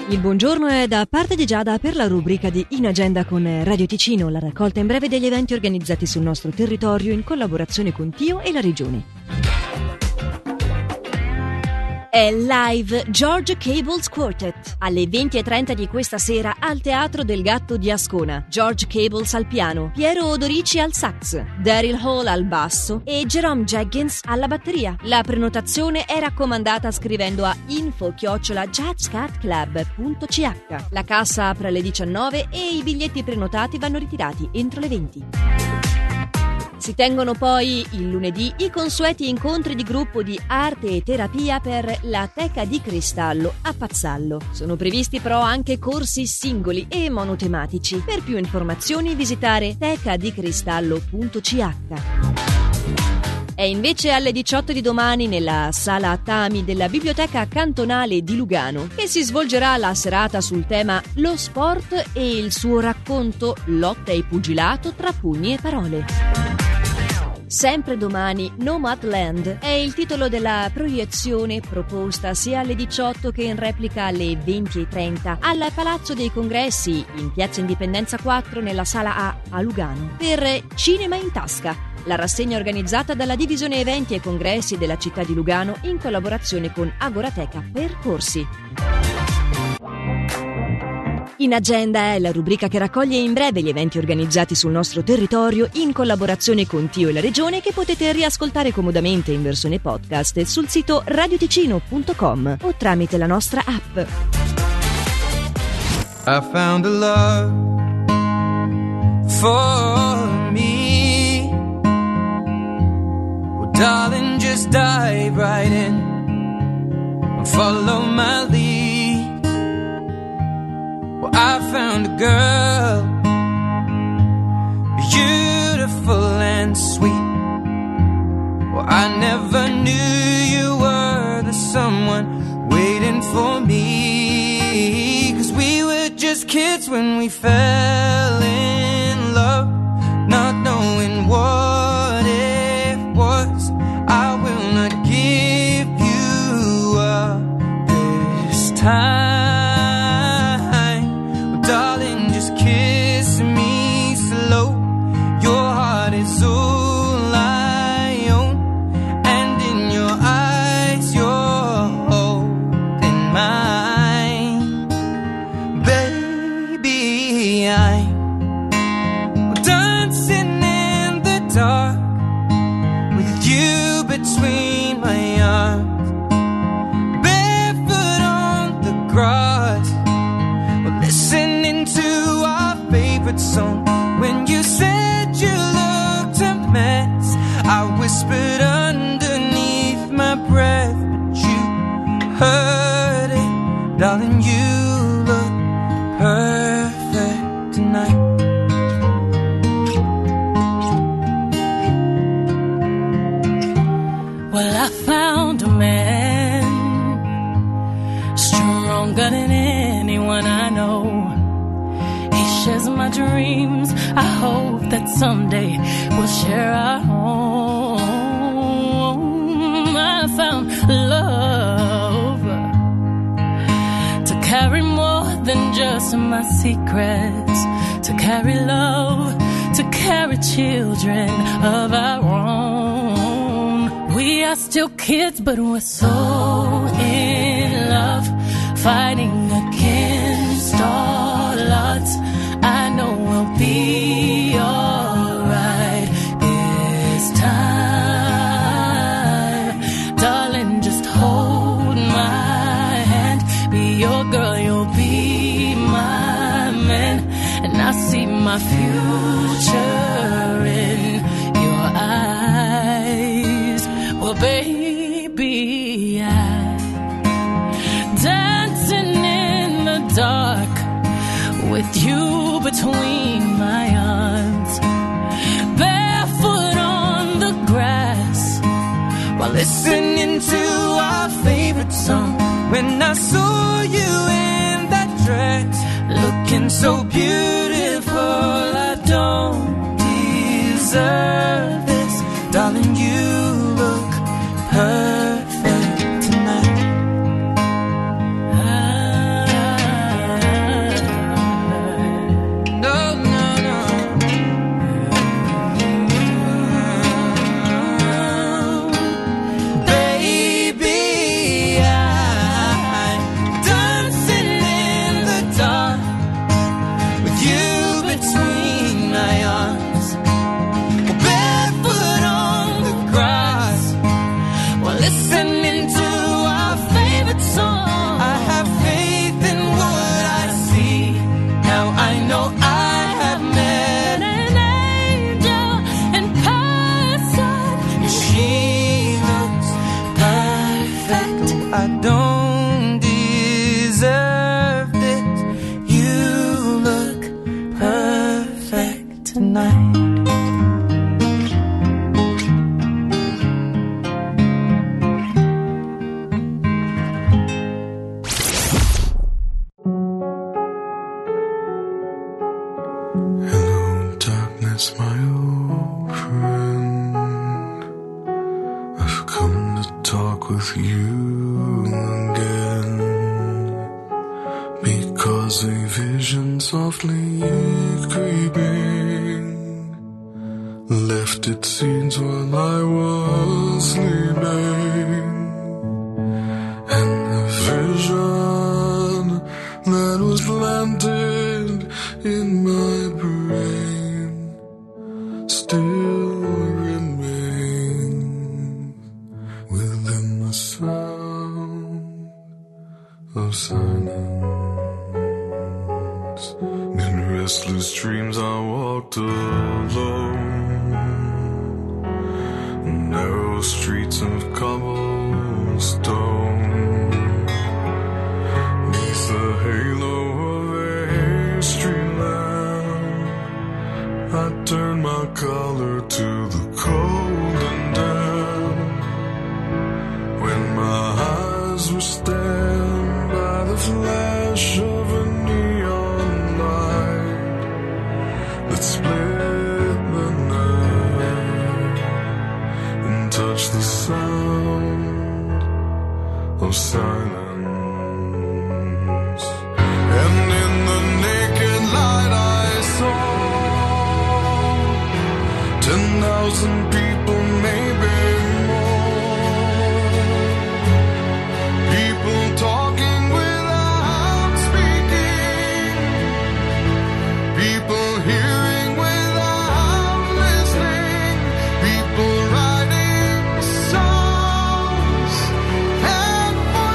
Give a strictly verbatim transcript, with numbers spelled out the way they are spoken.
Il buongiorno è da parte di Giada per la rubrica di In Agenda con Radio Ticino, la raccolta in breve degli eventi organizzati sul nostro territorio in collaborazione con Tio e la Regione. È live George Cable's Quartet alle venti e trenta di questa sera al Teatro del Gatto di Ascona. George Cables al piano, Piero Odorici al sax, Daryl Hall al basso e Jerome Jenkins alla batteria. La prenotazione è raccomandata scrivendo a info chiocciola jazzcatclub punto c h. La cassa apre alle diciannove e i biglietti prenotati vanno ritirati entro le venti. Si tengono poi il lunedì i consueti incontri di gruppo di arte e terapia per la Teca di Cristallo a Pazzallo. Sono previsti però anche corsi singoli e monotematici. Per più informazioni visitare teca di cristallo punto c h. È invece alle diciotto di domani nella sala Attami della Biblioteca Cantonale di Lugano che si svolgerà la serata sul tema Lo sport e il suo racconto Lotta e pugilato tra pugni e parole. Sempre domani, Nomadland è il titolo della proiezione proposta sia alle diciotto che in replica alle venti e trenta al Palazzo dei Congressi in Piazza Indipendenza quattro nella Sala A a Lugano per Cinema in Tasca, la rassegna organizzata dalla Divisione Eventi e Congressi della città di Lugano in collaborazione con Agorateca Percorsi. In Agenda è la rubrica che raccoglie in breve gli eventi organizzati sul nostro territorio in collaborazione con Tio e la Regione, che potete riascoltare comodamente in versione podcast sul sito radio ticino punto com o tramite la nostra app. I found a love for me. Well, darling, just dive right in and follow my lead. I found a girl, beautiful and sweet. Well, I never knew you were the someone waiting for me. 'Cause we were just kids when we fell in love, not knowing what it was. I will not give you up this time. Between my arms, barefoot on the grass, well, listening to our favorite song. When you said you looked a mess, I whispered underneath my breath, but you heard it, darling. You look perfect tonight. Well, I found a man stronger than anyone I know. He shares my dreams. I hope that someday we'll share our home. I found love to carry more than just my secrets, to carry love, to carry children of our own. We are still kids, but we're so in love, fighting against all odds. I know we'll be alright this time. Darling, just hold my hand, be your girl, you'll be my man. And I see my future in your eyes. Well, baby, I'm dancing in the dark with you between my arms, barefoot on the grass, while listening to our favorite song. When I saw you in that dress, looking so beautiful, I don't deserve this, darling. You look perfect tonight. Ah. I don't deserve this. You look perfect tonight. Hello, darkness, my old friend. I've come to talk with you again, because a vision softly creeping left its seeds while I was sleeping, and the vision that was planted in my brain still remains within the sound of silence. In restless dreams I walked alone, narrow streets of cobblestone, neath the halo of a street lamp. I turned my collar to the cold and damp, when my eyes were stabbed by the flash of a neon light that split the night and touched the sound of silence. And in the naked light I saw ten thousand people